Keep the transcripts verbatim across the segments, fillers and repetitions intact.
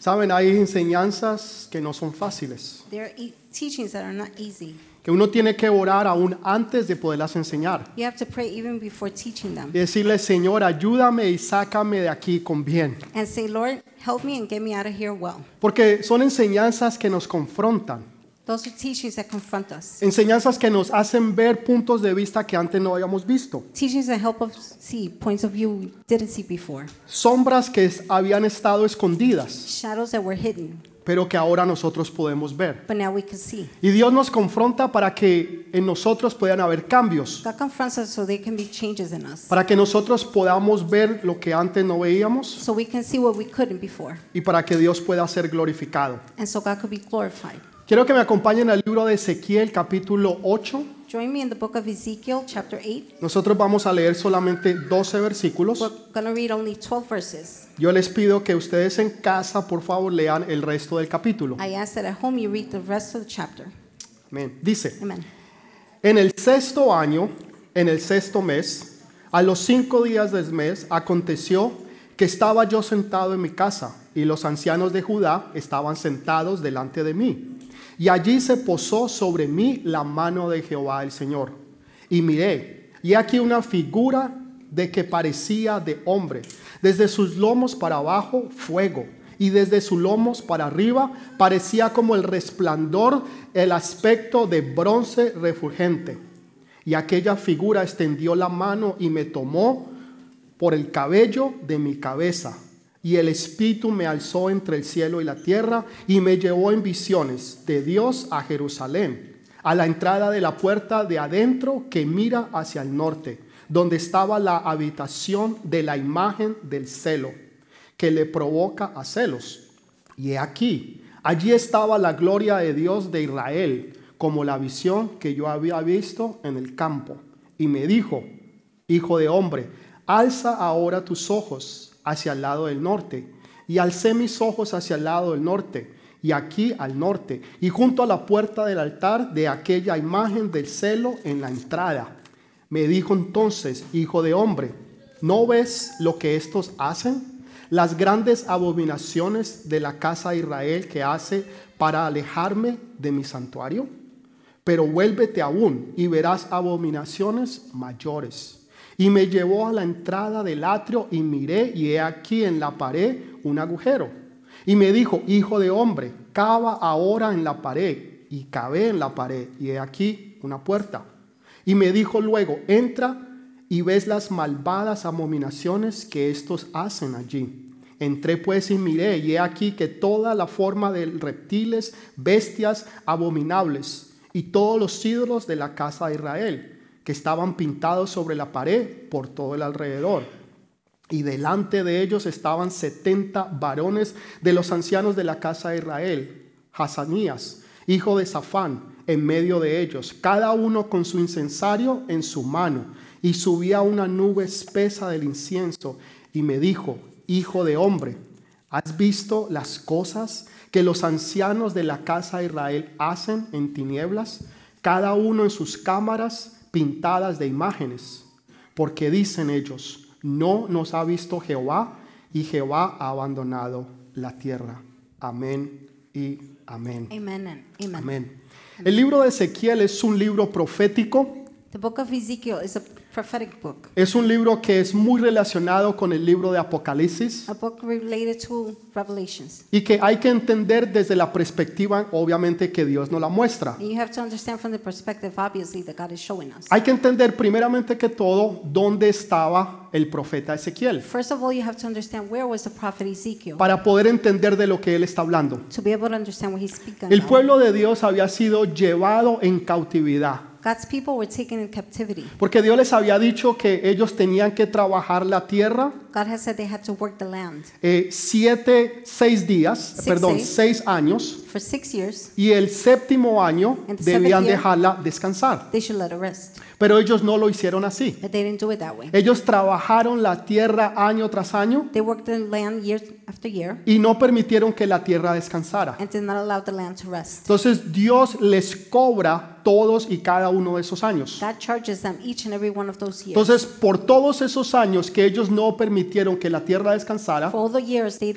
Saben, hay enseñanzas que no son fáciles, There are e- teachings that are not easy. que uno tiene que orar aún antes de poderlas enseñar. You have to pray even before teaching them. Y decirle, Señor, ayúdame y sácame de aquí con bien. And say, Lord, help me and get me out of here well. Porque son enseñanzas que nos confrontan. Those are teachings that confront us. Enseñanzas que nos hacen ver puntos de vista que antes no habíamos visto. Teachings that help us see points of view we didn't see before. Sombras que es- habían estado escondidas, Shadows that were hidden, pero que ahora nosotros podemos ver. but now we can see. Y Dios nos confronta para que en nosotros puedan haber cambios, God confronts us so there can be changes in us. para que nosotros podamos ver lo que antes no veíamos So we can see what we couldn't before. y para que Dios pueda ser glorificado. And so God could be glorified. Quiero que me acompañen al libro de Ezequiel capítulo ocho. Join me in the book of Ezekiel, chapter eight. Nosotros vamos a leer solamente doce versículos. We're going to read only twelve verses. Yo les pido que ustedes en casa, por favor, lean el resto del capítulo. I ask that at home you read the rest of the chapter. Amén. Dice, Amen. en el sexto año, en el sexto mes, a los cinco días del mes, aconteció que estaba yo sentado en mi casa y los ancianos de Judá estaban sentados delante de mí. Y allí se posó sobre mí la mano de Jehová el Señor. Y miré, y aquí una figura de que parecía de hombre. Desde sus lomos para abajo, fuego. Y desde sus lomos para arriba, parecía como el resplandor, el aspecto de bronce refulgente. Y aquella figura extendió la mano y me tomó por el cabello de mi cabeza. Y el Espíritu me alzó entre el cielo y la tierra y me llevó en visiones de Dios a Jerusalén, a la entrada de la puerta de adentro que mira hacia el norte, donde estaba la habitación de la imagen del celo, que le provoca a celos. Y he aquí, allí estaba la gloria de Dios de Israel, como la visión que yo había visto en el campo. Y me dijo, hijo de hombre, alza ahora tus ojos hacia el lado del norte. Y alcé mis ojos hacia el lado del norte, y aquí al norte, y junto a la puerta del altar de aquella imagen del celo en la entrada. Me dijo entonces, hijo de hombre, ¿no ves lo que estos hacen? Las grandes abominaciones de la casa de Israel que hace para alejarme de mi santuario. Pero vuélvete aún y verás abominaciones mayores. Y me llevó a la entrada del atrio y miré, y he aquí en la pared un agujero. Y me dijo, hijo de hombre, cava ahora en la pared. Y cavé en la pared, y he aquí una puerta. Y me dijo luego, entra y ves las malvadas abominaciones que estos hacen allí. Entré pues y miré, y he aquí que toda la forma de reptiles, bestias abominables, y todos los ídolos de la casa de Israel, que estaban pintados sobre la pared por todo el alrededor. Y delante de ellos estaban setenta varones de los ancianos de la casa de Israel, Hazanías, hijo de Safán, en medio de ellos, cada uno con su incensario en su mano, y subía una nube espesa del incienso, y me dijo, hijo de hombre, ¿has visto las cosas que los ancianos de la casa de Israel hacen en tinieblas, cada uno en sus cámaras pintadas de imágenes? Porque dicen ellos, no nos ha visto Jehová, y Jehová ha abandonado la tierra. Amén y amén. Amen and amen. Amén. El libro de Ezequiel es un libro profético. The book of Ezekiel is a prophetic book, Es un libro que es muy relacionado con el libro de Apocalipsis a book related to Revelations. y que hay que entender desde la perspectiva, obviamente, que Dios nos la muestra. And you have to understand from the perspective, obviously, that God is showing us. Hay que entender primeramente que todo dónde estaba el profeta Ezequiel First of all, you have to understand where was the prophet Ezekiel para poder entender de lo que él está hablando. to be able to understand what he's speaking El about. pueblo de Dios había sido llevado en cautividad God's people were taken in captivity. porque Dios les había dicho que ellos tenían que trabajar la tierra God has said they had to work the land eh, siete, seis días, Six perdón, days. seis años, for six years. y el séptimo año And the debían seventh year, dejarla descansar. They should let it rest. Pero ellos no lo hicieron así. But they didn't do it that way. Ellos trabajaron la tierra año tras año They worked the land year after year y no permitieron que la tierra descansara. and did not allow the land to rest. Entonces Dios les cobra todos y cada uno de esos años. God charges them each and every one of those years. Entonces, por todos esos años que ellos no permitieron que la tierra descansara, For all the years they didn't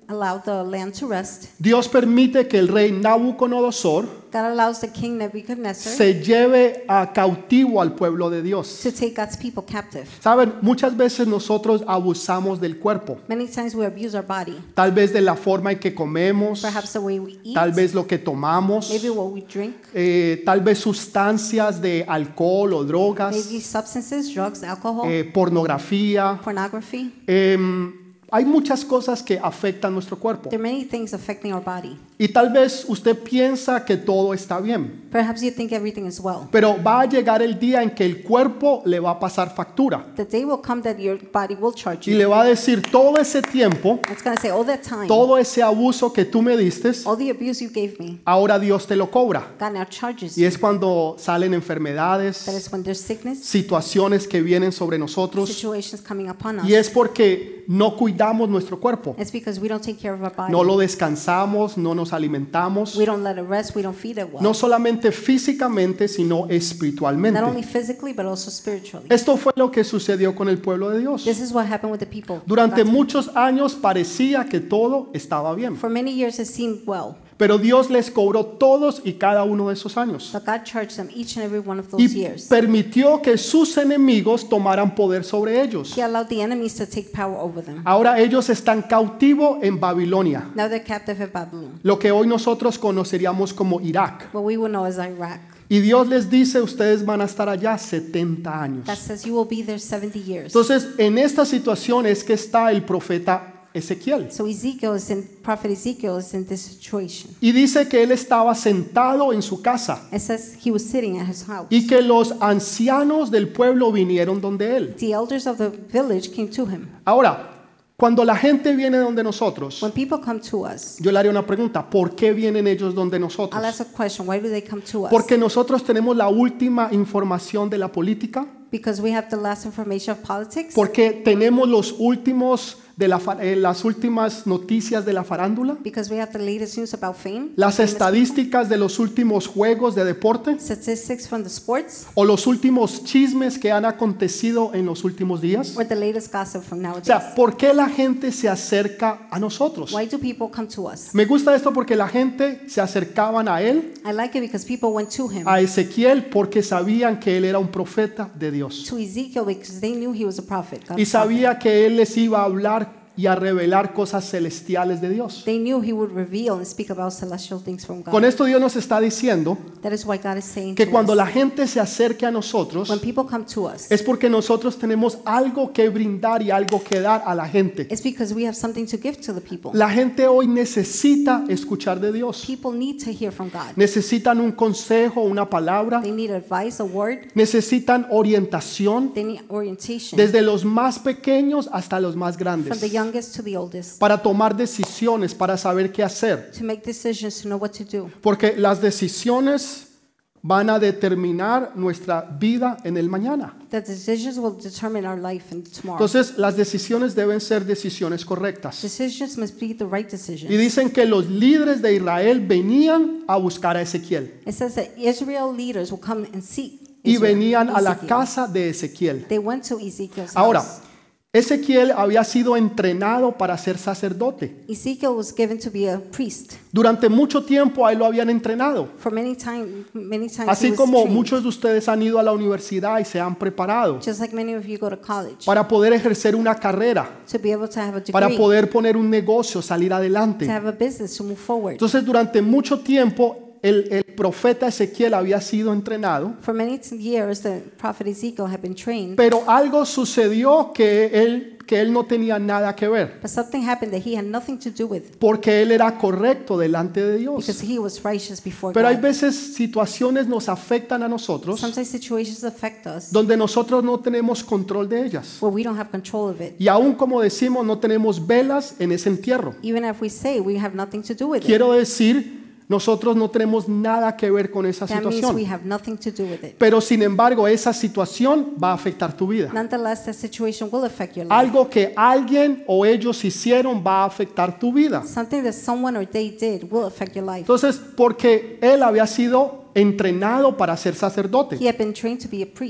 allow the land to rest. Dios permite que el rey Nabucodonosor God allows the king Nebuchadnezzar se lleve a cautivo al pueblo de Dios. to take God's people captive. Saben, muchas veces nosotros abusamos del cuerpo, Many times we abuse our body, tal vez de la forma en que comemos, perhaps the way we eat, tal vez lo que tomamos, maybe what we drink, eh, tal vez sustancias de alcohol o drogas, maybe substances, drugs, alcohol, eh, pornografía. pornography. Em, hay muchas cosas que afectan nuestro cuerpo. There are many things affecting our body. Y tal vez usted piensa que todo está bien, Perhaps you think everything is well. pero va a llegar el día en que el cuerpo le va a pasar factura The day will come that your body will charge y you. le va a decir todo ese tiempo, It's going to say, all that time, todo ese abuso que tú me diste, all the abuse you gave me, ahora Dios te lo cobra. God now charges Y you. es cuando salen enfermedades, That is when there's sickness, situaciones que vienen sobre nosotros, situations coming upon us. y es porque no cuidamos nuestro cuerpo, It's because we don't take care of our body. no lo descansamos, no nos alimentamos, We don't let it rest. We don't feed it well. no solamente físicamente, sino Not only espiritualmente. physically, but also spiritually. Esto fue lo que sucedió con el pueblo de Dios. This is what happened with the people. Durante God's- muchos años parecía que todo estaba bien, For many years it seemed well, pero Dios les cobró todos y cada uno de esos años but God charged them each and every one of those y years. permitió que sus enemigos tomaran poder sobre ellos. He allowed the enemies to take power over them. Ahora ellos están cautivos en Babilonia, Now they're captive in Babylon, lo que hoy nosotros conoceríamos como Irak. what we would know as Iraq. Y Dios les dice, ustedes van a estar allá setenta años. God says you will be there seventy years. Entonces, en esta situación es que está el profeta Ezequiel. So Ezekiel is in, prophet Ezekiel is in this situation. Y dice que él estaba sentado en su casa It says he was sitting at his house. y que los ancianos del pueblo vinieron donde él. The elders of the village came to him. Ahora, cuando la gente viene donde nosotros, When people come to us, yo le haré una pregunta, ¿por qué vienen ellos donde I'll nosotros? ask a question. Why do they come to us? Porque nosotros tenemos la última información de la política, Because we have the last information of politics. porque tenemos los últimos de la, fa- eh, las últimas noticias de la farándula, Because we have the latest news about fame. las famous estadísticas de los últimos juegos de deporte people, statistics from the sports, o los últimos chismes que han acontecido en los últimos días. or the latest gossip from O nowadays. sea, ¿por qué la gente se acerca a nosotros? Why do people come to us? Me gusta esto porque la gente se acercaban a él, I like it because people went to him, a Ezequiel, porque sabían que él era un profeta de Dios. to Ezekiel, because they knew he was a prophet. God's Y prophet. sabía que él les iba a hablar y a revelar cosas celestiales de Dios. They knew he would reveal and speak about celestial things from God. Con esto Dios nos está diciendo That is why God is saying que to cuando us, la gente se acerque a nosotros when people come to us, es porque nosotros tenemos algo que brindar y algo que dar a la gente. it's because we have something to give to the people. La gente hoy necesita escuchar de Dios. People need to hear from God. Necesitan un consejo, una palabra. They need advice, a word. Necesitan orientación They need orientation, desde los más pequeños hasta los más from grandes the youngest to the oldest, para tomar decisiones, para saber qué hacer. to make decisions, to know what to do. Porque las decisiones van a determinar nuestra vida en el mañana. The decisions will determine our life in tomorrow. Entonces, las decisiones deben ser decisiones correctas. Decisions must be the right Y decisions. dicen que los líderes de Israel venían a buscar a Ezequiel It says that Israel leaders will come and seek y Israel, venían a la Ezekiel. casa de Ezequiel. They went to Ezekiel's Ahora, house. Ezequiel había sido entrenado para ser sacerdote. Ezekiel was given to be a priest. Durante mucho tiempo a él lo habían entrenado. For many time, many times he Así was como trained. muchos de ustedes han ido a la universidad y se han preparado Just like many of you go to college para poder ejercer una carrera, to be able to have a degree, para poder poner un negocio, salir to adelante. have a business, to move forward. Entonces, durante mucho tiempo el, el profeta Ezequiel había sido entrenado, For many years, the prophet Ezekiel had been trained, pero algo sucedió que él que él no tenía nada que ver, but something happened that he had nothing to do with, porque él era correcto delante de Dios. because he was righteous before Pero hay God. veces situaciones nos afectan a nosotros Sometimes situations affect us donde nosotros no tenemos control de ellas. where we don't have control of it. Y aún como decimos, no tenemos velas en ese entierro. Even if we say we have nothing to do with it, Quiero decir, nosotros no tenemos nada que ver con esa that means we situación. have nothing to do with it. Pero sin embargo, esa situación va a afectar tu vida. Nonetheless, that situation will affect your life. Algo que alguien o ellos hicieron va a afectar tu vida. Something that someone or they did will affect your life. Entonces, porque él había sido entrenado para ser sacerdote, He had been trained to be a priest,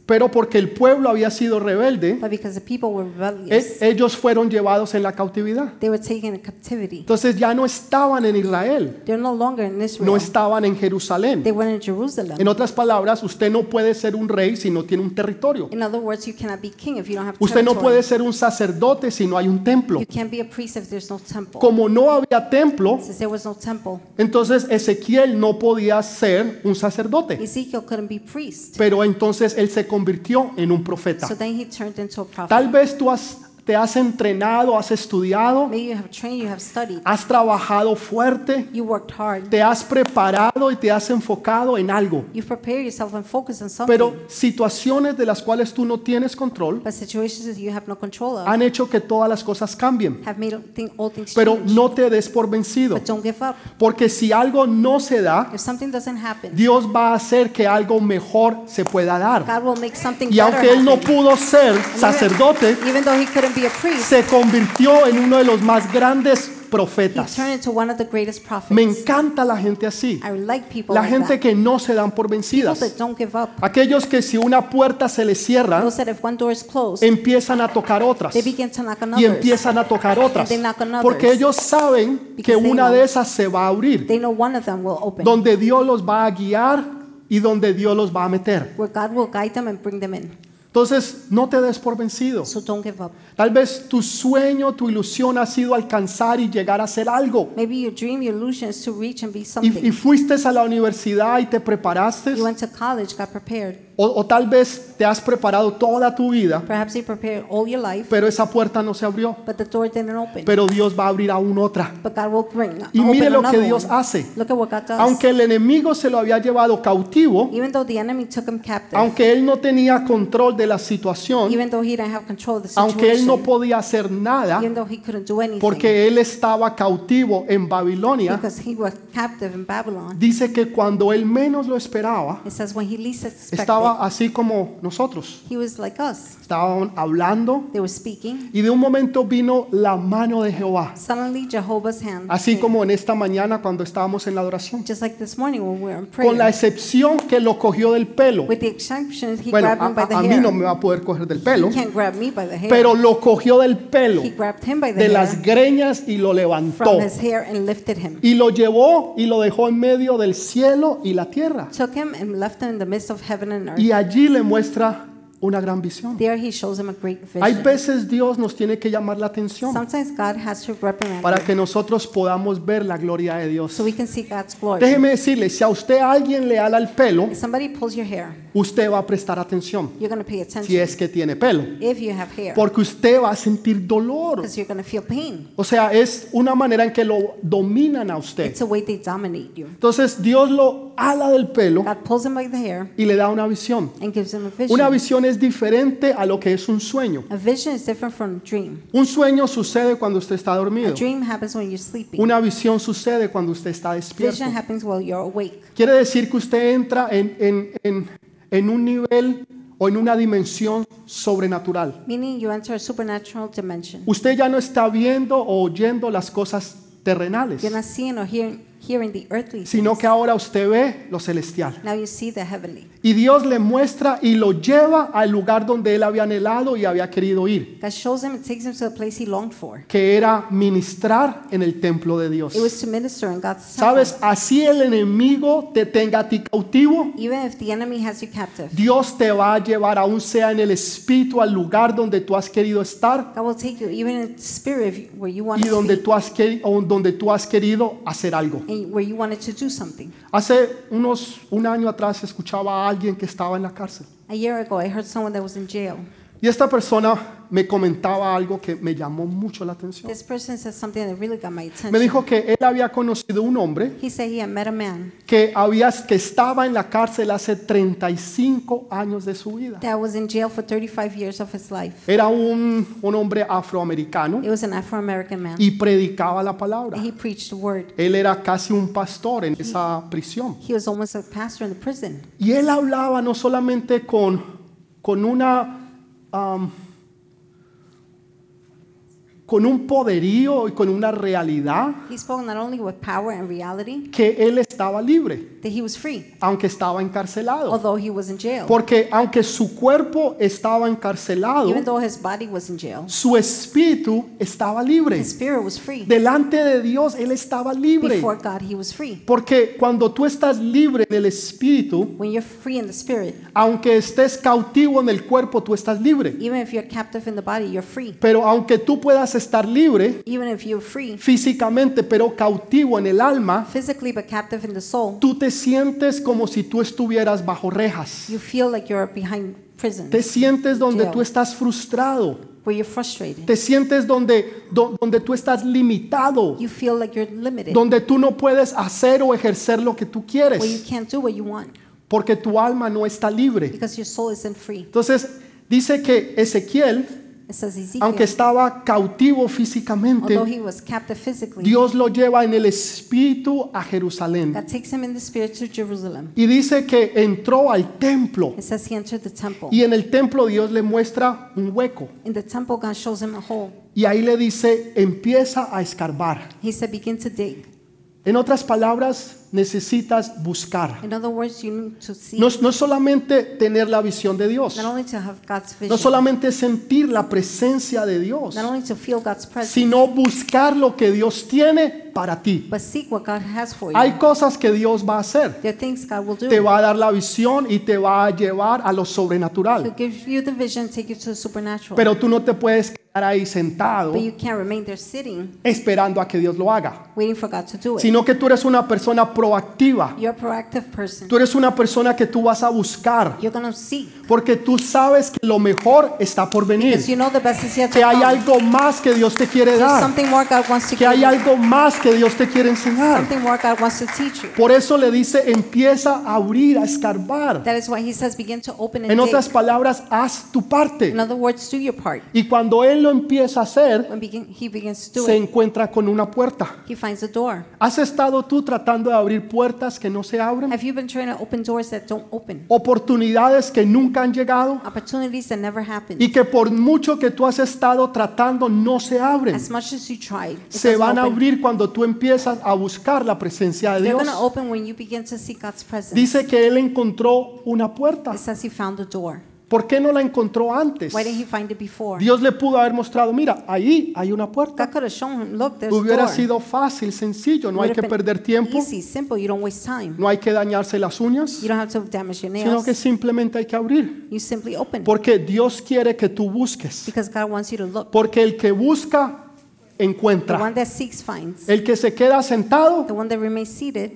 pero porque el pueblo había sido rebelde, but because the people were e- rebellious, ellos fueron llevados en la cautividad. they were taken in captivity. Entonces ya no estaban en Israel, They're no longer in no Israel. estaban en Jerusalén. They were in Jerusalem. En otras palabras, usted no puede ser un rey si no tiene un territorio. In other words, you cannot be king if you don't have Usted no territory. puede ser un sacerdote si no hay un templo. You can't be a priest if there's no temple. Como no había templo, Since there was no temple, entonces Ezequiel no podía ser un sacerdote. Ezekiel couldn't be priest. Pero entonces él se convirtió en un profeta. So then he turned into a prophet. Tal vez tú has, te has entrenado, has estudiado, Maybe you have trained, you have studied, has trabajado fuerte, you worked hard, te has preparado y te has enfocado en algo. you've prepared yourself and focused on something. Pero situaciones de las cuales tú no tienes control But situations that you have no control of han hecho que todas las cosas cambien. have made thing, all things Pero change. no te des por vencido, But don't give up. porque si algo no se da, If something doesn't happen, Dios va a hacer que algo mejor se pueda dar. God will make something Y better aunque él no happen. pudo ser sacerdote, Even though he couldn't be a priest, se convirtió en uno de los más grandes he profetas. turned into one of the greatest prophets. Me encanta la gente así, I like people la like gente that. que no se dan por People vencidas, that don't give up. aquellos que si una puerta se les cierra, Those that if one door is closed, empiezan a tocar otras they begin to knock on y others. empiezan a tocar otras, they knock on others. porque ellos saben que Because they una know. de esas se va a abrir, They know one of them will open, donde Dios los va a guiar y donde Dios los va a meter. where God will guide them and bring them in. Entonces, no te des por vencido. So don't give up. Tal vez tu sueño, tu ilusión ha sido alcanzar y llegar a ser algo. Maybe your dream, your illusion is to reach and be Y, something. y fuiste a la universidad y te preparaste, You went to college, got prepared. o, o tal vez te has preparado toda tu vida, Perhaps you prepared all your life, pero esa puerta no se abrió. but the door didn't open. Pero Dios va a abrir aún otra. But God will bring, Y open mire lo que another Dios one. hace. Look at what God does. Aunque el enemigo se lo había llevado cautivo, Even though the enemy took him captive, aunque él no tenía control de la situación, even though he didn't have control of the aunque él no situation, podía hacer nada, even though he couldn't do anything, porque él estaba cautivo en Babilonia, because he was captive in Babylon. dice que cuando él menos lo esperaba, It says when he least expected, estaba así como nosotros. he was like us. Estaban hablando They were speaking. y de un momento vino la mano de Jehová. Suddenly Jehovah's hand Así came. como en esta mañana cuando estábamos en la adoración. Just like this morning when we were in Con la prayer. excepción que lo cogió del pelo. With the exception, he Bueno, grabbed a, him by the a- a mí hair. no me va a poder coger del pelo, He can't grab me by the hair. pero lo cogió del pelo, He grabbed him by the de hair las greñas y lo levantó. from his hair and lifted him. Y lo llevó y lo dejó en medio del cielo y la tierra. Took him and left him in the midst of heaven and earth. Y allí le muestra una gran visión. There he shows him a great Hay vision. veces Dios nos tiene que llamar la atención Sometimes God has to reprimand para you que nosotros podamos ver la gloria de Dios. so we can see God's glory. Déjeme decirle, si a usted alguien le ala el pelo, If somebody pulls your hair, usted va a prestar atención you're going to pay attention si es que tiene pelo, if you have hair, porque usted va a sentir dolor. because you're going to feel pain. O sea, es una manera en que lo dominan a usted. It's a way they dominate you. Entonces Dios lo ala del pelo God pulls him by the hair y le da una visión. and gives him a vision. Una visión es diferente a lo que es un sueño. A vision is different from a dream. Un sueño sucede cuando usted está A dormido. dream happens when you're sleeping. Una visión sucede cuando usted está despierto. Vision happens while you're awake. Quiere decir que usted entra en, en, en, en un nivel o en una dimensión sobrenatural. Meaning you enter a supernatural dimension. Usted ya no está viendo o oyendo las cosas terrenales, You're not seeing or hearing, hearing the earthly sino things. que ahora usted ve lo celestial. Now you see the heavenly. Y Dios le muestra y lo lleva al lugar donde él había anhelado y había querido ir, God shows him and takes him to the place he longed for. que era ministrar en el templo de Dios. It was to minister in God's temple. ¿Sabes? Así el enemigo te tenga a ti cautivo, Even if the enemy has you captive, Dios te va a llevar, aún sea en el espíritu, al lugar donde tú has querido estar God will take you even in spirit if you- where you want y to donde be tú has, queri- o donde tú has querido hacer algo. and where you wanted to do something. Hace unos un año atrás escuchaba a alguien que estaba en la cárcel A year ago, I heard someone that was in jail. y esta persona me comentaba algo que me llamó mucho la atención. This person said something that really got my attention. Me dijo que él había conocido un hombre He said he had met a man que había que estaba en la cárcel hace treinta y cinco años de su vida. that was in jail for thirty-five years of his life. Era un, un hombre afroamericano It was an Afro-American man. y predicaba la palabra. And he preached the word. Él era casi un pastor en esa prisión. He was almost a pastor in the prison. Y él hablaba no solamente con, con una um, con un poderío y con una realidad He spoke not only with power and reality, que él estaba libre, that he was free, aunque estaba encarcelado. although he was in jail. Porque aunque su cuerpo estaba encarcelado, Even though his body was in jail, su espíritu estaba libre. his spirit was free. Delante de Dios él estaba libre. Before God, he was free. Porque cuando tú estás libre en el espíritu, When you're free in the spirit, aunque estés cautivo en el cuerpo, tú estás libre. even if you're captive in the body, you're free. Pero aunque tú puedas estar libre Even if you're free físicamente, pero cautivo en el alma, physically but captive in the soul, tú te sientes como si tú estuvieras bajo rejas. you feel like you're behind prison, Te sientes donde Jail. tú estás frustrado. where you're frustrated. Te sientes donde, do- donde tú estás limitado. You feel like you're limited, Donde tú no puedes hacer o ejercer lo que tú where you quieres. can't do what you want Porque tu alma no está libre. because your soul isn't free. Entonces dice que Ezequiel, It says Ezekiel, aunque estaba cautivo físicamente, although he was captive physically, Dios lo lleva en el espíritu a Jerusalén. God takes him in the spirit to Jerusalem. Y dice que entró al templo. It says he entered the temple. Y en el templo Dios le muestra un hueco. In the temple, God shows him a hole. Y ahí le dice, empieza a escarbar. He said, begin to dig. En otras palabras, necesitas buscar. In other words, you need to see, No, no solamente tener la visión de Dios. not only to have God's No vision, solamente sentir la presencia de Dios, not only to feel God's presence, sino buscar lo que Dios tiene para ti. but seek what God has for Hay you. cosas que Dios va a hacer. There are things God will do. Te va a dar la visión y te va a llevar a lo He'll sobrenatural. give you the vision, take you to the supernatural. Pero tú no te puedes quedar ahí sentado But you can't remain there sitting, esperando a que Dios lo haga, waiting for God to do it. sino que tú eres una persona proactiva. You're a proactive person. Tú eres una persona que tú vas a buscar, You're going to seek porque tú sabes que lo mejor está por venir, because you know the best is yet to que hay come. algo más que Dios te quiere There's dar, something more God wants to que give hay you. algo más que Dios te quiere enseñar. Something more God wants to teach you. Por eso le dice, empieza a abrir, a escarbar. That is why he says begin to open and En otras dig. palabras, haz tu parte. In other words, do your part. Y cuando Él lo empieza a hacer, When begin, he begins to do se it, encuentra con una puerta. he finds a door. ¿Has estado tú tratando de abrir puertas que no se abren? Have you been trying to open doors that don't open? Oportunidades que nunca han llegado Opportunities that never happen. y que por mucho que tú has estado tratando no se abren. As much as you tried, it Se doesn't van a open. abrir cuando tú empiezas a buscar la presencia de They're Dios. going to open when you begin to seek God's presence. Dice que Él encontró una puerta. It says he found a door. ¿Por qué no la encontró antes? Why didn't he find it before? Dios le pudo haber mostrado, mira, ahí hay una God puerta. could have shown him, look, there's a Hubiera door. sido fácil, sencillo, no hay Would que have been perder tiempo, easy, simple. You don't waste time. no hay que dañarse las uñas, You don't have to damage your sino nails. que simplemente hay que abrir. You simply open. Porque Dios quiere que tú busques. Because God wants you to look. Porque el que busca, The encuentra. one that seeks finds. El que se queda sentado, The one that remains seated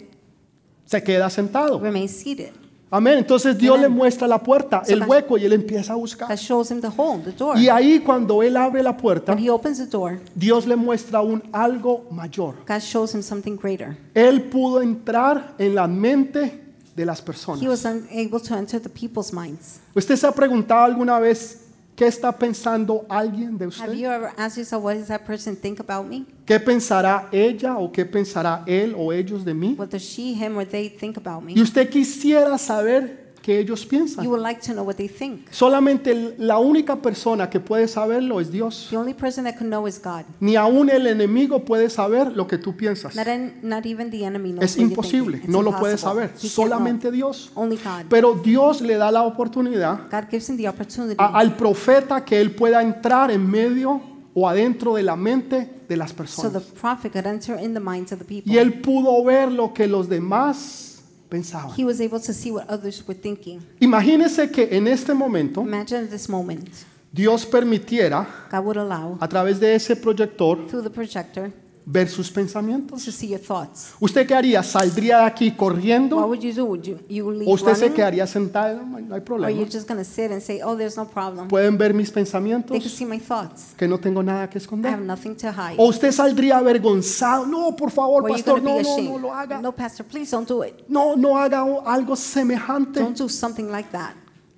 se queda sentado. remains seated. Amén. Entonces Dios Amen. le muestra la puerta, So el God- hueco, y él empieza a buscar. God shows him the hole, the door. Y ahí cuando él abre la puerta, When he opens the door, Dios le muestra un algo mayor. God shows him something greater. Él pudo entrar en la mente de las He personas. was unable to enter the people's minds. ¿Usted se ha preguntado alguna vez qué está pensando alguien de Have usted? you ever asked yourself, what does that person think about me? ¿Qué pensará ella o qué pensará él o ellos de mí? What does she, him, or they think about me? Y usted quisiera saber qué ellos You piensan. would like to know what they think. Solamente la única persona que puede saberlo es Dios. The only person that could know is God. Ni aún el enemigo puede saber lo que tú piensas. Not, en- not even the enemy knows Es what you're imposible, thinking. It's no lo puede impossible. saber. He can't know. Solamente Dios. Only God. Pero Dios le da la oportunidad God gives him the opportunity a- al profeta que él pueda entrar en medio o adentro de la mente de las so the personas. prophet could enter in the minds of the people. Y él pudo ver lo que los demás pensaban. He was able to see what others were thinking. Imagínese que en este momento Imagine at this moment, Dios permitiera God would allow, a través de ese proyector through the projector, ver sus pensamientos. to see your thoughts. ¿Usted qué haría? ¿Saldría de aquí What corriendo? would you do? Would you, you leave ¿O usted se running? quedaría sentado? No, no hay Or problema. you're just going to sit and say, oh, there's no problem. Pueden ver mis They could pensamientos, see my thoughts. que no tengo nada que I have esconder. nothing to hide. ¿O usted saldría avergonzado? No, por favor, Or you're pastor, going to no, be no, no lo ashamed. haga. No, pastor, please don't do it. No, no haga algo semejante. Don't do something like that.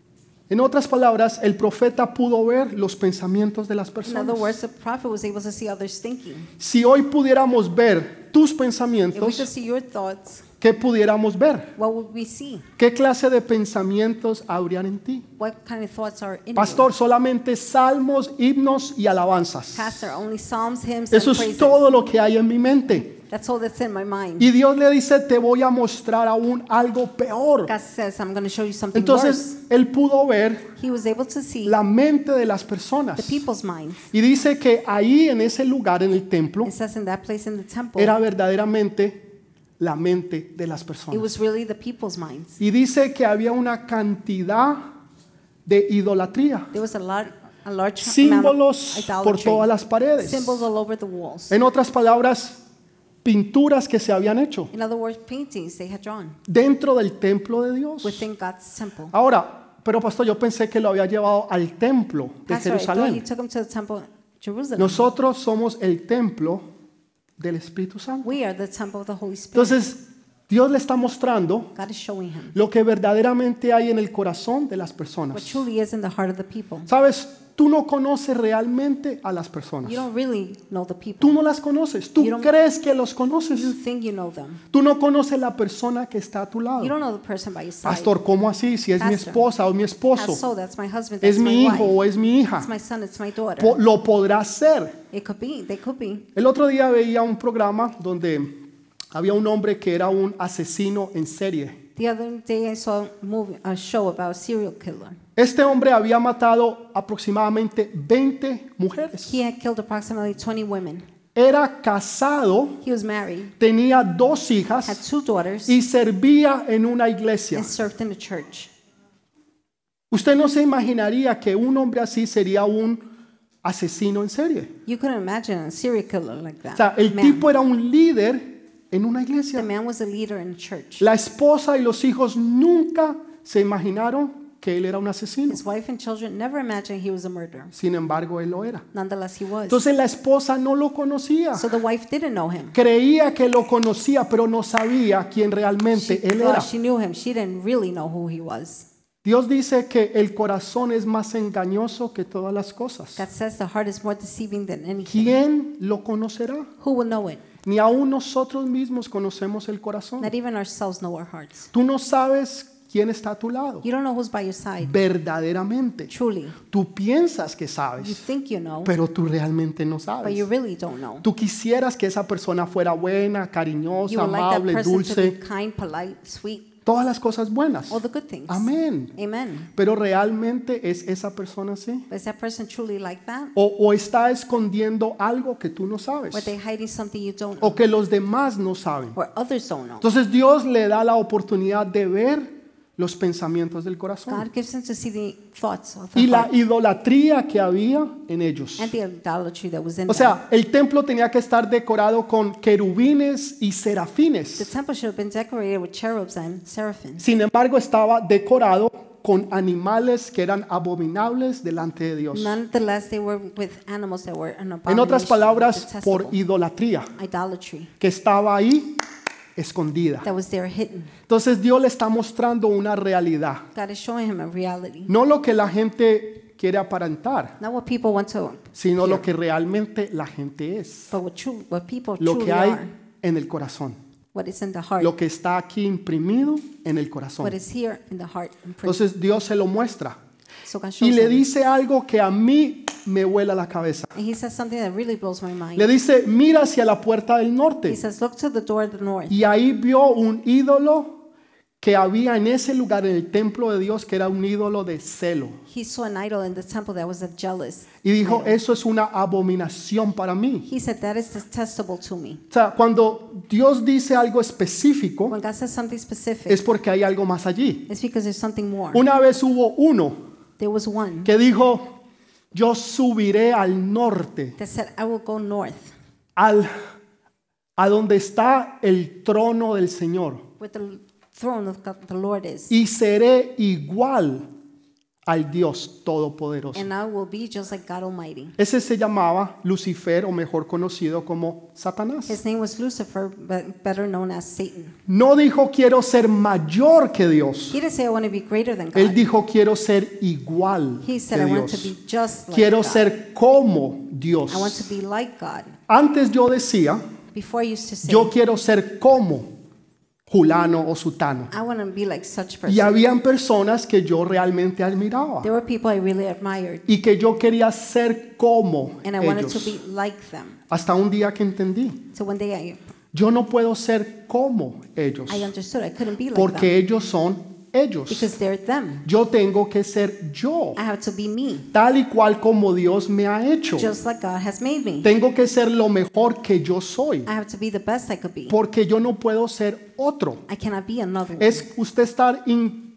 En otras palabras, el profeta pudo ver los pensamientos de las In personas. other words, the prophet was able to see others thinking. Si hoy pudiéramos ver tus If we could pensamientos, see your thoughts, ¿qué pudiéramos ver? what would we see? ¿Qué clase de pensamientos habrían en ti? What kind of thoughts are in Pastor, solamente salmos, himnos y you? alabanzas. Pastor, only psalms, hymns, Eso and es praises. todo lo que hay en mi mente. That's all that's in my mind. Y Dios le dice, te voy a mostrar aún algo peor. God says, I'm going to show you something worse. Entonces, él pudo ver He was able to see la mente de las the personas. people's minds. Y dice que ahí en ese lugar, en el templo, It says in that place in the temple, era verdaderamente la mente de las it personas. was really the people's minds. Y dice que había una cantidad de idolatría, There was a lot, a large símbolos amount of por idolatry. todas las paredes. Symbols all over the walls. En otras palabras, pinturas que se habían hecho In other words, paintings they had drawn dentro del templo de Dios. within God's temple. Ahora, pero pastor, yo pensé que lo había llevado al templo de Pastor, I thought he Jerusalén. took him to the temple of Jerusalem. Nosotros somos el templo del Espíritu Santo. We are the temple of the Holy Spirit. Entonces, Dios le está mostrando God is showing him lo que verdaderamente hay en el corazón de las what personas. truly is in the heart of the people. Sabes, tú no conoces realmente a las personas. You don't really know the people. Tú no las conoces. Tú You don't- crees que los conoces. You think you know them. Tú no conoces la persona que está a tu You lado. don't know the person by your side. Pastor, ¿cómo así? Si es mi Pastor. esposa o mi Ah, esposo, so that's my husband, es that's my mi hijo wife. o es mi hija, It's my son, it's my daughter. po- lo podrá ser. It could be, they could be. El otro día veía un programa donde había un hombre que era un asesino en serie. The other day I saw a, movie, a show about a serial killer. Este hombre había matado aproximadamente veinte mujeres. He had killed approximately twenty women. Era casado, He was married, tenía dos had hijas two daughters, y servía en una iglesia. and served in the church. Usted no se imaginaría que un hombre así sería un asesino en serie. You couldn't imagine a serial killer like that. O sea, el man. tipo era un líder en una The iglesia. man was a leader in the church. La esposa y los hijos nunca se imaginaron que él era un asesino. His wife and children never imagined he was a murderer. Sin embargo, él lo era. Nonetheless, he was. Entonces la esposa no lo conocía. So the wife didn't know him. Creía que lo conocía, pero no sabía quién realmente She él thought era. she knew him. She didn't really know who he was. Dios dice que el corazón es más engañoso que todas las cosas. God says the heart is more deceiving than anything. ¿Quién lo conocerá? Who will know it? Ni aún nosotros mismos conocemos el corazón. Not even ourselves know our hearts. Tú no sabes quién está a tu lado. You don't know who's by your side. Verdaderamente. Truly. Tú piensas que You sabes, think you know, pero tú realmente no but sabes. you really don't know. Tú quisieras que esa persona fuera buena, You cariñosa, would like that amable, person to be dulce, kind, polite, sweet, todas las cosas buenas. all the good things. Amén. Amen. Pero realmente es esa persona así. But is that person truly like that? O, o está escondiendo algo que tú no sabes. Or are they hiding something you don't know? O que los demás no saben. Or others don't know? Entonces Dios le da la oportunidad de ver los pensamientos del corazón. God gives them to see the thoughts of the Y la heart idolatría que había en ellos. and the idolatry that was in O them. sea, el templo tenía que estar decorado con querubines y The serafines. temple should have been decorated with cherubs and seraphims. Sin embargo, estaba decorado con animales que eran abominables delante de Dios. Nonetheless, they were with animals that were an En otras abomination, palabras, por detestable. idolatría Idolatry que estaba ahí escondida. that was there hidden. Entonces Dios le está mostrando una realidad, God is showing him a reality. no lo que la gente quiere aparentar, Not what people want to, sino lo hear, que realmente la gente es, but what, true, what people lo truly que hay are. en el corazón, What is in the heart. lo que está aquí imprimido en el corazón. What is here in the heart. imprinted. Entonces Dios se lo muestra So God y shows le him. dice algo que a mí me vuela la cabeza. And he says something that really blows my mind. Le dice, mira hacia la puerta del He norte. says, look to the door of the north. Y ahí vio un ídolo que había en ese lugar, en el templo de Dios, que era un ídolo de celo. He saw an idol in the temple that was a jealous. Y dijo, idol. eso es una abominación para mí. He said, that is detestable to me. O sea, cuando Dios dice algo específico, When God says something specific, es porque hay algo más allí. it's because there's something more. Una vez hubo uno There was one que dijo, yo subiré al norte, that said, I will go north, al, a donde está el trono del Señor, where the throne of God, the Lord is, y seré igual al Dios Todopoderoso. and I will be just like God Almighty. Ese se llamaba Lucifer, o mejor conocido como Satanás. His name was Lucifer, but better known as Satan. No dijo quiero ser mayor que Dios. He didn't say I want to be greater than Él God. dijo quiero ser igual He said que I want to Dios. be just like Quiero God. ser como Dios. I want to be like God. Antes yo decía, Before I used to say, yo quiero ser como Julano o Sutano. I want to be like such Y person. habían personas que yo realmente admiraba There were people I really admired, y que yo quería ser como and I wanted to ellos. be like them. Hasta un día que entendí, So one day I, yo no puedo ser como ellos I understood I couldn't be like porque them ellos son ellos. because they're them. Yo tengo que ser yo, I have to be me, tal y cual como Dios me ha hecho. just like God has made me. Tengo que ser lo mejor que yo soy, I have to be the best I could be. porque yo no puedo ser otro. I cannot be another one. Es usted estar in-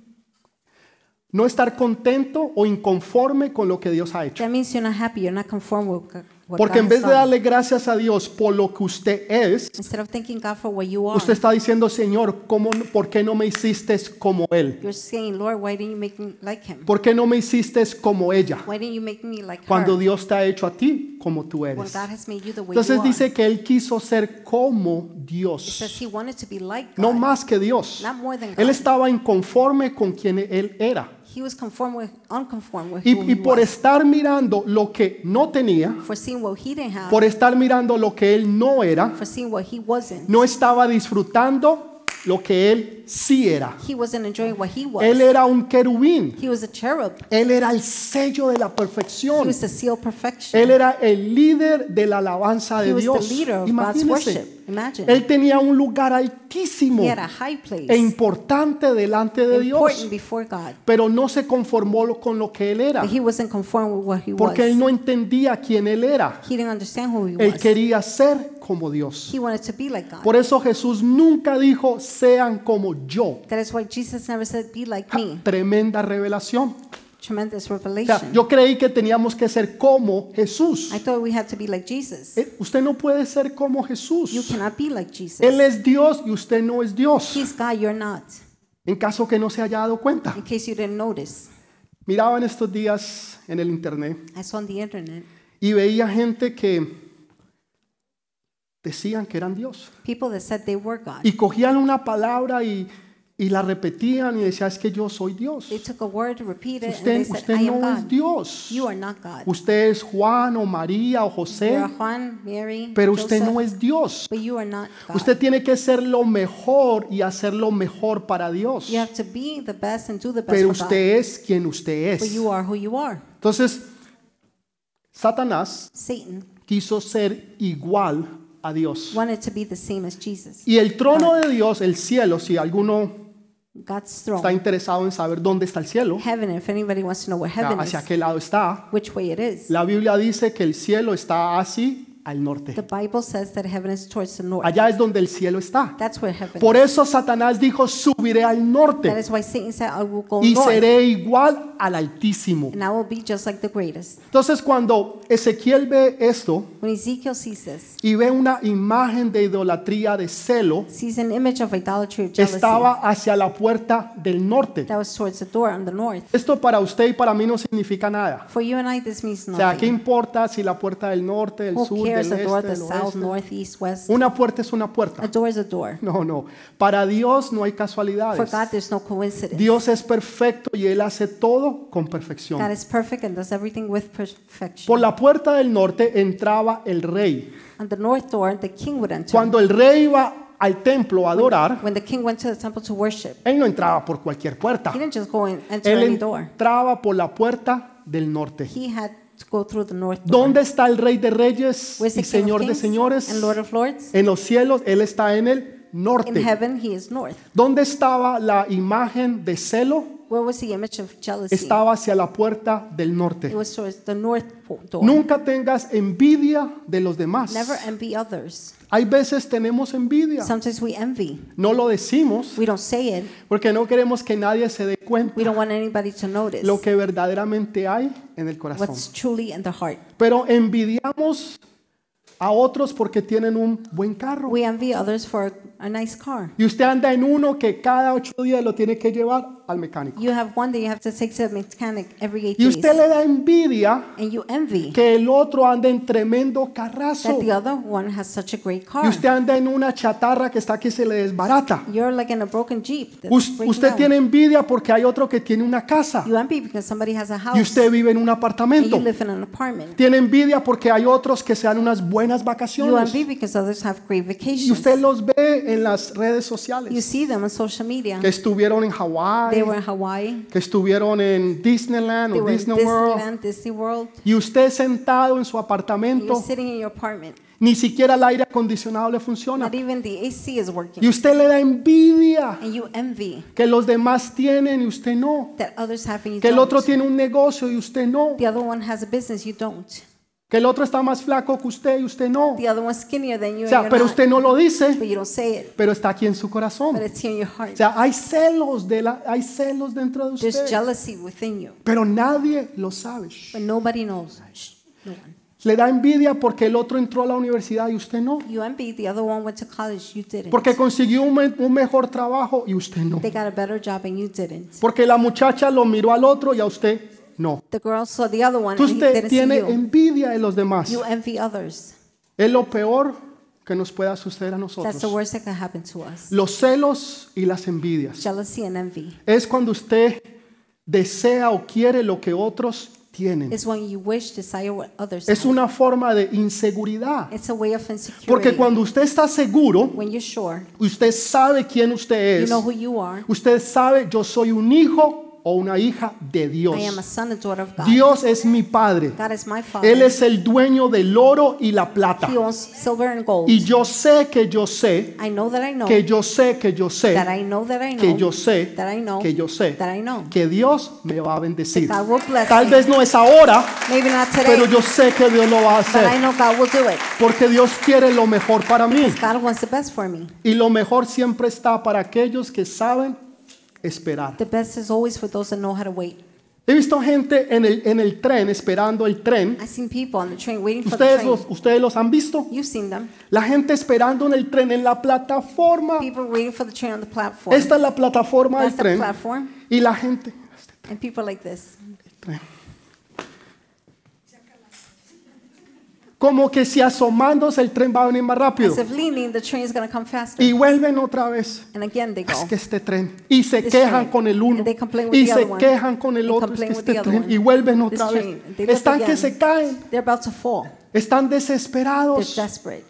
no estar contento o inconforme con lo que Dios ha hecho. That means you're not happy, you're not conformed with God- what Porque God en vez has de done. darle gracias a Dios por lo que usted es, Instead of thanking God for what you are, usted está diciendo, Señor, ¿cómo, ¿por qué no me hiciste como Él? you're saying, Lord, why didn't you make me like him? ¿Por qué no me hiciste como ella? Why didn't you make me like Cuando her? Dios te ha hecho a ti como tú When eres. God has made you the way Entonces you are. dice que Él quiso ser como It Dios, says he wanted to be like God, no más que Dios. not more than God. Él estaba inconforme con quien Él era. He was conformed with, unconformed with Y, who y he por was. estar mirando lo que no tenía, For seeing what he didn't have, por estar mirando lo que Él no era, for seeing what he wasn't. no estaba disfrutando lo que Él sí era. He wasn't enjoying what he was. Él era un querubín. He was a cherub. Él era el sello de la He perfección. was the seal of perfection. Él era el líder de la alabanza He de was the Dios. leader of God's Imagínese. worship. Imagine. Él tenía un lugar altísimo He had a high place, e importante delante de important Dios, before God. pero no se conformó lo- con lo que Él era, But he wasn't conformed with what he was. porque Él no entendía quién Él era. He didn't understand who he Él was. quería ser como Dios. He wanted to be like God. Por eso Jesús nunca dijo, sean como yo. That is why Jesus never said, be like me. Tremenda revelación. Tremendous O revelation. sea, yo creí que teníamos que ser como Jesús. I thought we had to be like Jesus. Eh, Usted no puede ser como Jesús. You cannot be like Jesus. Él es Dios y usted no es Dios. He's God, you're not. En caso que no se haya dado cuenta. In case you didn't notice. Miraba en estos días en el internet I saw on the internet y veía gente que decían que eran Dios. people that said they were God. Y cogían una palabra y, y la repetían y decían, es que yo soy Dios. They took a word, repeated it, and Usted, they said, usted I am no es God. Dios. You are not God. Usted es Juan o María o José, You are Juan, Mary, pero usted Joseph, no es Dios. but you are not God. Usted tiene que ser lo mejor y hacer lo mejor para Dios. You have to be the best and do the best Pero for God. usted es quien usted But es. you are who you are. Entonces, Satanás Satan quiso ser igual a Dios. wanted to be the same as Jesus. Y el trono de Dios, el cielo, si alguno God's está throne, interesado en saber dónde está el cielo, heaven, if anybody wants to know where heaven is, hacia qué lado está, which way it is, la Biblia dice que el cielo está así al norte. the Bible says that heaven is towards the north. Allá es donde el cielo está. That's where heaven Por is. eso Satanás dijo, subiré al That norte is why Satan said, I will go y north, seré igual al Altísimo. and I will be just like the greatest. Entonces cuando Ezequiel ve esto When Ezekiel sees this, y ve una imagen de idolatría de celo, sees an image of idolatry of jealousy estaba hacia la puerta del norte. that was towards the door on the north. Esto para usted y para mí no significa nada. For you and I, this means O sea, ¿qué nothing. importa si la puerta del norte, del Who sur, cares del the door, este, the del south, oeste? north, east, west? Una puerta es una A puerta. door is a door. No, no. Para Dios no hay For casualidades. God, there's no coincidence. Dios es perfecto y Él hace todo con God perfección. is perfect and does everything with perfection. Por la puerta del norte entraba el rey. On the north door, the king would enter. Cuando el rey iba al templo a adorar, When the king went to the temple to worship, él no entraba por cualquier puerta. he didn't just go and enter Él any door. entraba por la puerta del norte. He had to go through the north door. ¿Dónde está el rey de reyes Where's y the king of señor de kings señores? and lord of lords? En los cielos, Él está en el In norte. heaven, he is north. ¿Dónde estaba la imagen de celo? Where was the image of jealousy? Estaba hacia la puerta del It norte. was towards the north po- door. Nunca tengas envidia de los demás. Never envy others. Hay veces tenemos envidia. Sometimes we envy. No lo decimos We don't say it. porque no queremos que nadie se dé We cuenta don't want anybody to notice lo que verdaderamente hay en el corazón. what's truly in the heart. Pero envidiamos a otros porque tienen un buen carro, We envy others for a nice car. Y usted anda en uno que cada ocho días lo tiene que llevar al mecánico. You have one that you have to take to the mechanic every eight Y days. usted le da envidia And you envy que el otro anda en tremendo carrazo. that the other one has such a great Y car. usted anda en una chatarra que está que se le desbarata. You're like in a broken Jeep that's Us- breaking Usted down. tiene envidia porque hay otro que tiene una casa You envy because somebody has a house y usted vive en un and apartamento. you live in an apartment. Tiene envidia porque hay otros que se dan unas buenas You vacaciones envy because others have great y vacations. usted los ve en las redes You sociales see them on social media. que estuvieron en They Hawái, were in Hawaii. que estuvieron en Disneyland They o were in Disney World Disneyland, Disney World. y usted sentado en su And you're apartamento, sitting in your apartment. ni siquiera el aire acondicionado le funciona Not even the A C is y working. usted le da envidia And you envy que los demás tienen y usted no, that others have and you que el otro don't. tiene un negocio y usted no, The other one has a business, you don't. que el otro está más flaco que usted y usted no. The other one's skinnier than you O and sea, you're pero not. usted no lo dice, But you don't say it. pero está aquí en su corazón. But it's here in your heart. O sea, hay celos de la, hay celos dentro de There's usted, jealousy within you. pero nadie lo sabe. But nobody knows. Shh, no one. Le da envidia porque el otro entró a la universidad y usted no, You envy the other one went to college, you didn't. porque consiguió un, me- un mejor trabajo y usted no, They got a better job and you didn't. porque la muchacha lo miró al otro y a usted no. The girl saw the other one and he Usted didn't see tiene you. envidia de los demás. You envy others. Es lo peor que nos pueda suceder a That's the nosotros. worst that can happen to us. Los celos y las envidias. Jealousy and envy. Es cuando usted desea o quiere lo que otros tienen. It's when you wish, desire what others Es have. una forma de inseguridad. It's a way of insecurity. Porque cuando usted está seguro, When you're sure, usted sabe quién usted you es. know who you are. Usted sabe, yo soy un hijo o una hija de Dios. I am a son and daughter of God. Dios es mi Padre. God is my Father. Él es el dueño del oro y la plata. He owns silver and gold. Y yo sé que yo sé, I know that I know que yo sé, que yo sé, that I know that I know que yo sé, that I know que yo sé, that I know. que Dios me va a bendecir. That God will bless Tal me. vez no es ahora, Maybe not today, pero yo sé que Dios lo va a but I hacer. know God will do it. Porque Dios quiere lo mejor para mí. God wants the best for me. Y lo mejor siempre está para aquellos que saben esperar. The best is always for those that know how to wait. He visto gente en el, en el tren, esperando el tren. I've seen people on the train waiting for the ¿Ustedes train. los, ustedes los han visto? You've seen them. La gente esperando en el tren, en la plataforma. People waiting for the train on the platform. Esta es la plataforma del That's the tren. platform. Y la gente, And people like this. tren. Como que si asomándose el tren va a venir más rápido. As if leaning, the train is going to come faster. Y vuelven otra vez. And again they go. Es que este tren. Y se This quejan train. con el uno. And they complain with Y the se other one. quejan con el They otro. Es que complain with este the other tren. one. Y vuelven This otra vez. train. They look Están que again. se caen. They're about to fall. Están They're desesperados. desperate.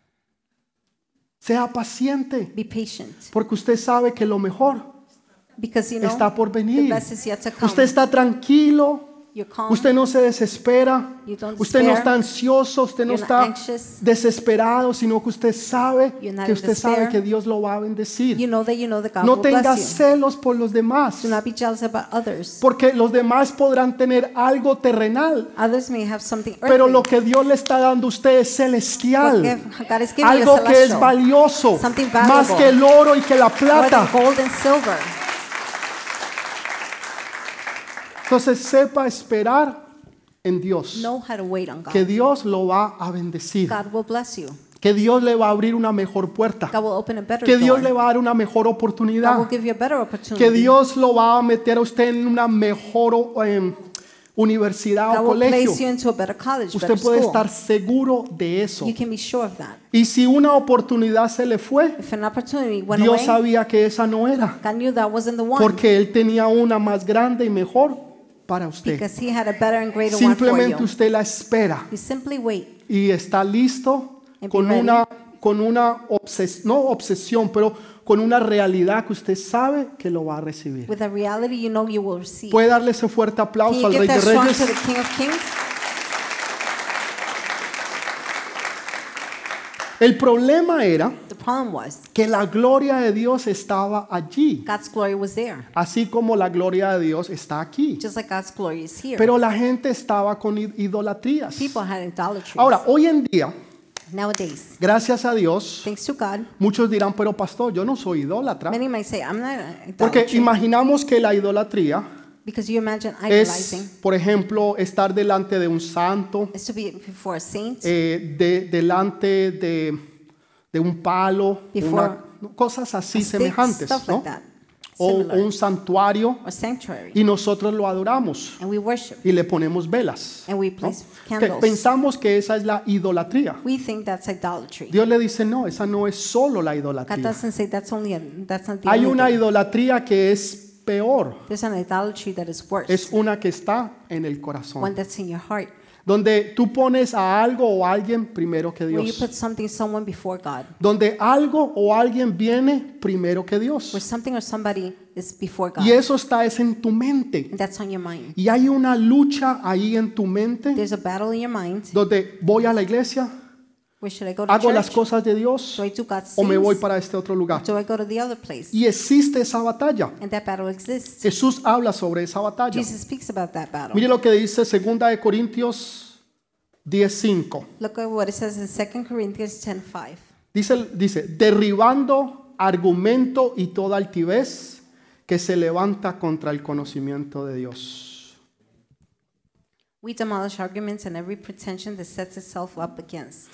Sea paciente. Be patient. Porque usted sabe que lo mejor Because you know, está por the venir. best is yet to come. Usted está tranquilo. You're calm. Usted no se desespera. You don't Usted no despair. está ansioso. Usted no You're not está anxious. desesperado, sino que usted sabe You're not que in usted sabe despair. que Dios lo va a bendecir. You know that you know that God No will tenga bless you. celos por los demás. Do not be jealous about others. Porque los demás podrán tener algo terrenal. Others may have something earthly. Pero lo que Dios le está dando a usted es What celestial. give- God is giving you Algo que es celestial. valioso. Something Más valuable. que el oro y que la More plata. than gold and silver. Entonces sepa esperar en Dios. Know how to wait on God. Que Dios lo va a bendecir. God will bless you. Que Dios le va a abrir una mejor puerta. God will open a better Que Dios door. le va a dar una mejor God oportunidad. will give you a better Que opportunity. Dios lo va a meter a usted en una mejor eh, universidad o God will colegio. place you into a better college, Usted better puede school. estar seguro de eso. You can be sure of that. Y si una oportunidad se le fue, If an opportunity went Dios away, sabía que esa no era. God knew that wasn't the one. Porque Él tenía una más grande y mejor para usted. Because He had a better and greater one for Simplemente you. usted la espera You simply wait. y está listo And be con ready. una, con una obses- no obsesión, pero con una realidad que usted sabe que lo va a recibir. With a reality you know you will receive. Puede darle ese fuerte Can aplauso you al give Rey de that strong Reyes. to the King of Kings? El problema era The problem was que la gloria de Dios estaba allí, God's glory was there. así como la gloria de Dios está aquí. Just like God's glory is here. Pero la gente estaba con id- idolatrías. People had idolatry. Ahora, hoy en día, Nowadays, gracias a Dios, thanks to God, muchos dirán, pero pastor, yo no soy idólatra. many might say, I'm not an Porque idolatry. imaginamos que la idolatría Because you imagine es, idolizing por ejemplo, estar delante de un santo, is to be before a saint, eh, de- delante de, de un palo, Before una, ¿no? Cosas así a stick, semejantes, stuff ¿no? like that. O, Similar. o un santuario Or sanctuary. y nosotros lo adoramos And we worship. y le ponemos velas. And we ¿no? place Que candles. pensamos que esa es la idolatría. We think that's idolatry. Dios le dice, no, esa no es solo la God idolatría. doesn't say that's only a, that's not the Hay only una thing. idolatría que es peor. There's an idolatry that is worse. Es una que está en el One corazón. that's in your heart. Donde tú pones a algo o a alguien primero que Where you Dios. put something, someone before God. Donde algo o alguien viene primero que Where Dios. something or somebody is before God. Y eso está es en tu mente. And that's on your mind. Y hay una lucha ahí en tu mente There's a battle in your mind. donde voy a la iglesia, Where should I go to hago las church? cosas de Dios Do I do God's o me voy things? para este otro lugar. Do I go to the other place? Y existe esa batalla. And that battle exists. Jesús habla sobre esa batalla. Jesus speaks about that battle. Mire lo que dice segunda de Corintios diez cinco. Look at what it says in Second Corinthians ten five. Dice, dice, derribando argumento y toda altivez que se levanta contra el conocimiento de Dios. We demolish arguments and every pretension that sets itself up against.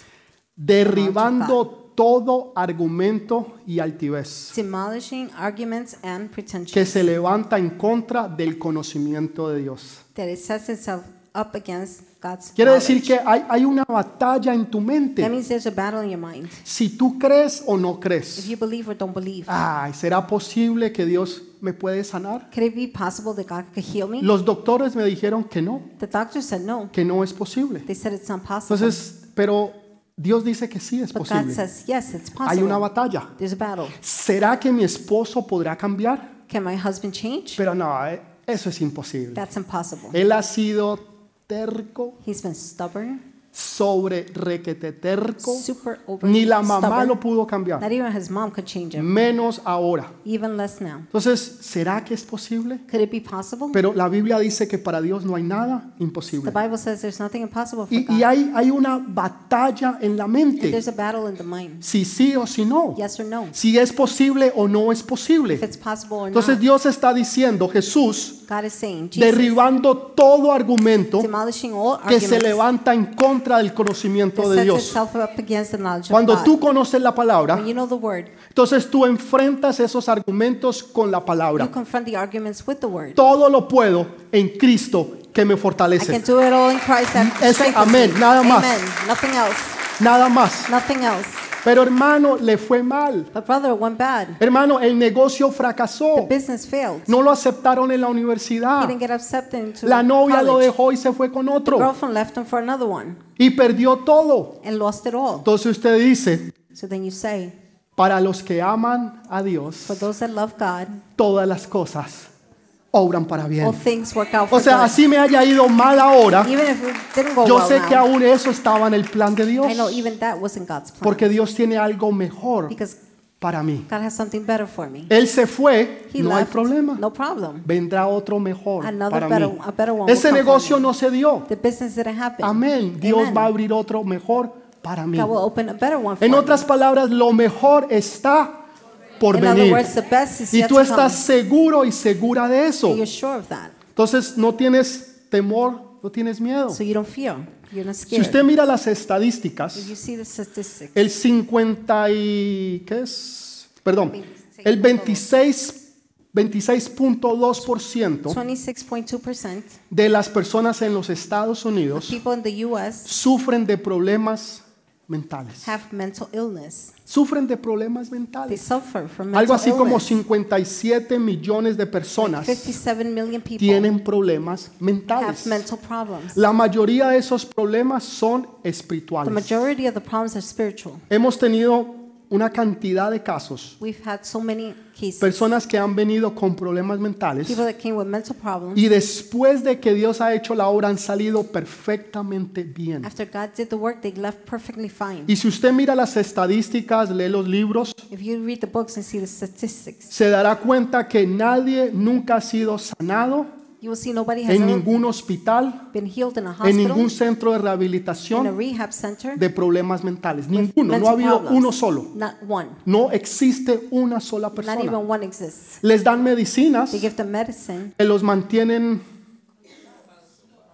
Derribando todo argumento y altivez Demolishing arguments and que pretensions se levanta en contra del conocimiento de Dios. that it sets itself up against God's Quiere decir knowledge. que hay, hay una batalla en tu That mente. means there's a battle in your mind. Si tú crees o no If crees, you believe or don't believe. ay, ¿será posible que Dios me puede sanar? Could it be possible that God could heal me? Los doctores me dijeron que no, The doctor said no. que no es posible. They said it's not possible. Entonces, pero Dios dice que sí es But God posible. says yes, it's Hay una possible. batalla. There's a battle. ¿Será que mi esposo podrá cambiar? Can my husband change? Pero no, eh, eso es imposible. That's impossible. Él ha sido terco, He's been stubborn, sobre requete terco. super over Ni la mamá stubborn. lo pudo cambiar, Not even his mom could change him. menos ahora. Even less now. Entonces, ¿será que es posible? Could it be possible? Pero la Biblia dice que para Dios no hay nada The imposible. Bible says there's nothing impossible for Y, God. y hay, hay una batalla en la And mente. there's a battle in the mind. Si sí o si no. Yes or no. Si es posible o no es If posible. it's possible or Entonces not. Dios está diciendo, Jesús, God is saying, Jesus, derribando todo argumento demolishing all que se arguments levanta en contra del conocimiento that de sets Dios. itself up against the knowledge Cuando of God. tú conoces la palabra, When you know the word, entonces tú enfrentas esos argumentos con la you palabra. confront the arguments with the word. Todo lo puedo en Cristo que me I can fortalece. do it all in Christ that Eso, strengthens amén, me. nada más. Amen. Nothing else. Nada más. Nothing else. Pero hermano, le fue mal. But brother, it went bad. Hermano, el negocio The fracasó. business failed. No lo aceptaron en la He universidad. didn't get accepted into La novia lo college. dejó y se fue con The otro. girlfriend left him for another one Y perdió todo. and lost it all. Entonces usted dice, So then you say, para los que aman a Dios, for those that love God, todas las cosas obran para all bien. things work out O for sea, good. así me haya ido mal ahora, Even if it didn't go yo well sé que now, aún eso estaba en el plan de Dios. I know even that wasn't God's plan. Porque Dios tiene algo mejor Because para mí. God has something better for me. Él se fue, He no hay left, problema. no problem. Vendrá otro mejor Another para better, mí. a better one will Ese come for negocio me. no se dio. The business didn't happen. Amén. Dios Amen. va a abrir otro mejor para mí. God will open a better one for En me. otras palabras, lo mejor está por In other venir. words, the best is Y yet tú to estás come. seguro y segura de eso. And you're sure of that. Entonces no tienes temor, no tienes miedo. So you don't fear. You're not Si scared. usted mira las estadísticas, If you see the statistics, el cincuenta y ¿qué es? Perdón, el veintiséis veintiséis punto dos por ciento twenty-six point two percent de las personas en los Estados Unidos people in the U S sufren de problemas mentales. have mental illness. Sufren de problemas They mentales. suffer from mental Algo así como illness. cincuenta y siete millones de personas fifty-seven million people tienen problemas have mentales. mental problems. La mayoría de esos problemas son The espirituales. majority of the problems are spiritual. Hemos tenido una cantidad de casos, We've had so many cases. personas que han venido con problemas mentales People that came with mental problems. y después de que Dios ha hecho la obra han salido perfectamente bien. After God did the work, they left perfectly fine. Y si usted mira las estadísticas, lee los libros, If you read the books and see the statistics, se dará cuenta que nadie nunca ha sido sanado you will see nobody has en ever ningún hospital, been healed in a en hospital, ningún centro de in a rehabilitación rehab center, de problemas mentales. with Ninguno, no mental ha habido problems. uno solo. Not one. No existe una sola Not persona. even one exists. Les dan medicinas They give them medicine que los mantienen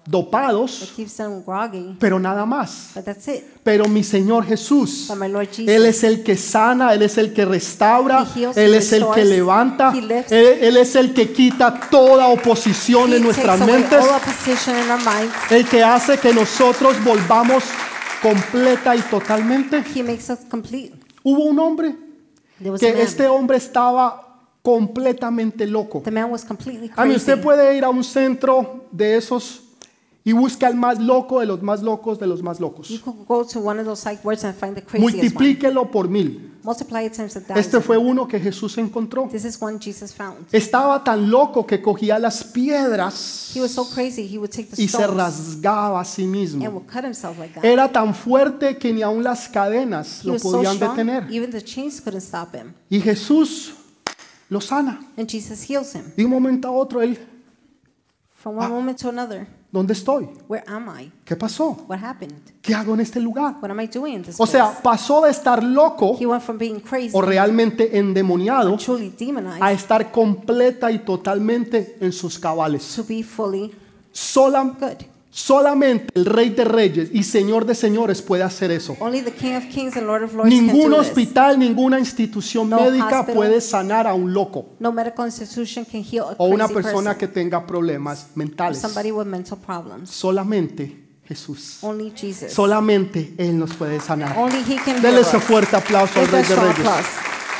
dopados, keeps them groggy, pero nada más. but that's it. Pero mi Señor Jesús, But my Lord Jesus, Él es el que sana, Él es el que restaura, He heals, Él He es el que restores, levanta, He lifts. Él, Él es el que quita toda oposición He en takes nuestras away mentes, all opposition in our minds. el que hace que nosotros volvamos completa y totalmente. He makes us complete. Hubo un hombre There was a que man. este hombre estaba completamente loco. The man was completely A mí crazy. usted puede ir a un centro de esos y busca al más loco de los más locos de los más You locos. could go to one of those psych wards and find the craziest one. Multiplíquelo por mil. Multiply it times a thousand. Este fue uno que Jesús encontró. This is one Jesus found. Estaba tan loco que cogía las piedras He was so crazy he would take the y se stones rasgaba a sí and mismo. would cut himself like that. Era tan fuerte que ni aun las cadenas He lo was so podían strong, detener. even the chains couldn't stop him. Y Jesús lo sana. And Jesus heals him. De un momento a otro, él, From one moment to another, ¿dónde estoy? where am I? ¿Qué pasó? What happened? ¿Qué hago en este lugar? What am I doing in this O sea, place? pasó de estar loco He went from being crazy, o realmente endemoniado truly a demonized, estar completa y totalmente en sus cabales. to be fully Solam- good. solamente el Rey de Reyes y Señor de Señores puede hacer eso. Only the King of Kings and Lord of Lords Ningún can do this. hospital, ninguna institución No médica hospital. puede sanar a un loco No medical institution can heal a o una crazy persona person que tenga problemas or mentales. somebody with mental problems. Solamente Jesús. Only Jesus. Solamente Él nos puede sanar. Only He can heal Dele us. ese fuerte aplauso al Give Rey that de strong Reyes. applause.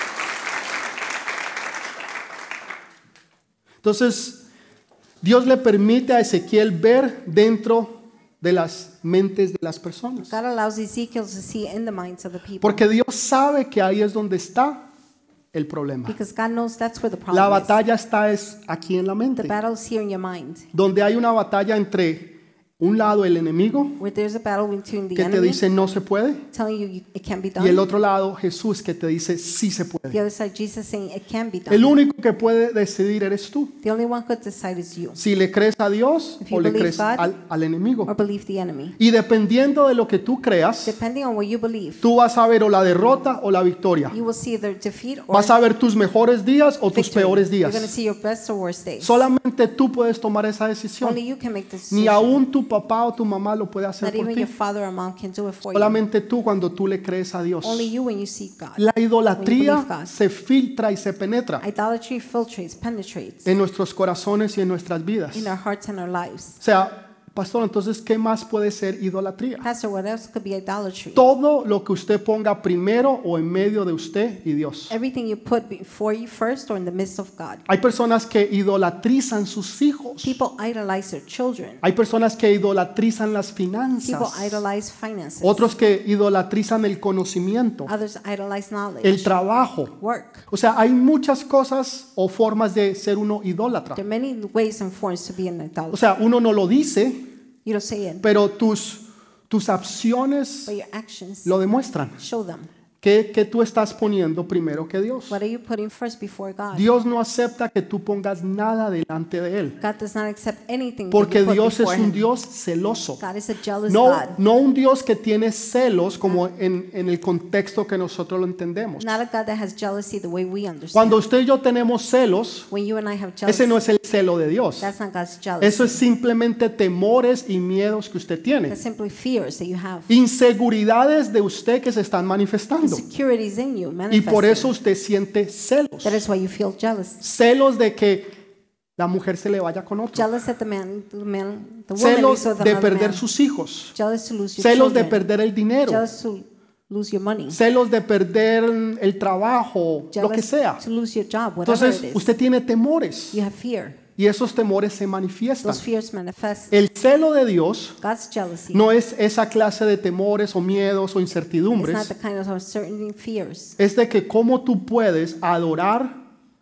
Entonces, Dios le permite a Ezequiel ver dentro de las mentes de las personas. God allows Ezekiel to see in the minds of the people. Porque Dios sabe que ahí es donde está el problema. Because God knows that's where the La problem is. batalla está es aquí en la The mente. battle is here in your mind. Donde hay una batalla entre un lado el enemigo Where there's a battle between the que te enemy dice no se puede telling you, you it can't be y el done. otro lado Jesús que te dice sí se The puede. other side, Jesus saying it can be done. El único que puede decidir eres tú. The only one who could decide is you. Si le crees a Dios If you o le believe crees God al, al enemigo. Or believe the enemy. Y dependiendo de lo que tú creas, Depending on what you believe, tú vas a ver o la derrota o la victoria. you will see either defeat or Vas a ver tus mejores días o tus victory. peores You're going to días. see your best or worst days. Solamente tú puedes tomar esa decisión. Only you can make this Ni decision. aún tu papá o tu mamá lo puede hacer Not por even ti. your father or mom can do it for you. Solamente tú cuando tú le crees a Dios. Only you when you seek God. La When you idolatría believe God. se filtra y se penetra Idolatry filtrates, penetrates en nuestros corazones y en nuestras vidas. in our hearts and our lives. O sea, pastor, entonces, ¿qué más puede ser idolatría? Pastor, what else could be idolatry? Todo lo que usted ponga primero o en medio de usted y Dios. Everything you put before you first or in the midst of God. Hay personas que idolatrizan sus hijos. People idolize their children. Hay personas que idolatrizan las People finanzas. idolize finances. Otros que idolatrizan el conocimiento, Others idolize knowledge, el trabajo. work. O sea, hay muchas cosas o formas de ser uno idólatra. There are many ways and forms to be an O idolater. sea, uno no lo dice, You don't say it, pero tus, tus acciones but your actions lo demuestran. show them. ¿Qué, qué tú estás poniendo primero que Dios? What are you putting first before God? Dios no acepta que tú pongas nada delante de Él. God does not accept anything that Porque you put Dios es before un Him. Dios celoso. God is a jealous No, God. no un Dios que tiene celos como en, en el contexto que nosotros lo entendemos. Not a God that has jealousy the way we understand. Cuando usted y yo tenemos celos, When you and I have jealousy, ese no es el celo de Dios. that's not God's jealousy. Eso es simplemente temores y miedos que usted tiene. That's simply fears that you have. Inseguridades de usted que se están manifestando. Insecurities in you, Y por eso manifesting. usted siente celos. That is why you feel jealous. Celos de que la mujer se le vaya con otro. Jealous that the man, the man, the woman Celos is with de another perder man. sus hijos. Jealous to lose your Celos de children. perder el dinero. Jealous to lose your money. Celos de perder el trabajo, lo que Jealous sea. to lose your job, whatever Entonces, it is. usted tiene temores You have fear. y esos temores se manifiestan. Those fears manifest. El celo de Dios God's jealousy no es esa clase de temores o miedos o is not incertidumbres. the kind of uncertainty fears. Es de que cómo tú puedes adorar,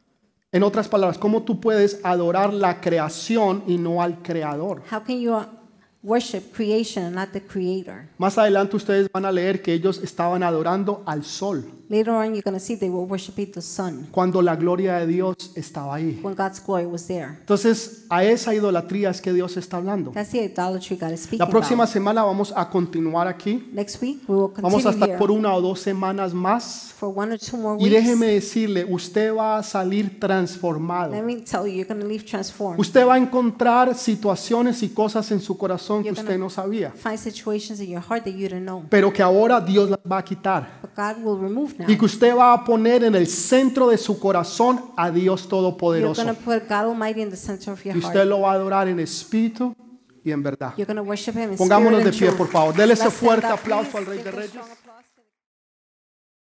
en otras palabras, cómo tú puedes adorar la creación y no al creador. How can you uh, worship creation and not the creator? Más adelante ustedes van a leer que ellos estaban adorando al sol. Later on, you're going to see they were worshiping the sun cuando la gloria de Dios estaba ahí. when God's glory was there. Entonces, a esa idolatría es que Dios está hablando. That's the idolatry God is speaking La próxima about. semana vamos a continuar aquí. Next week, we will Vamos a continue estar here por una o dos semanas más. for one or two more Y weeks. déjeme decirle, usted va a salir transformado. Let me tell you, you're going to leave transformed. Usted va a encontrar situaciones y cosas en su corazón que You're usted gonna- no sabía, Find situations in your heart that you didn't know, pero que ahora Dios las va a quitar. but God will remove now. Y que usted va a poner en el centro de su corazón a Dios You're Todopoderoso. going to put God Almighty in the center of your Y usted heart. lo va a adorar en espíritu y en verdad. You're going to worship Him in Pongámonos spirit de and pie, truth. por favor. Dele ese Let's stand fuerte up, aplauso please. al Rey Give de a Reyes. strong applause.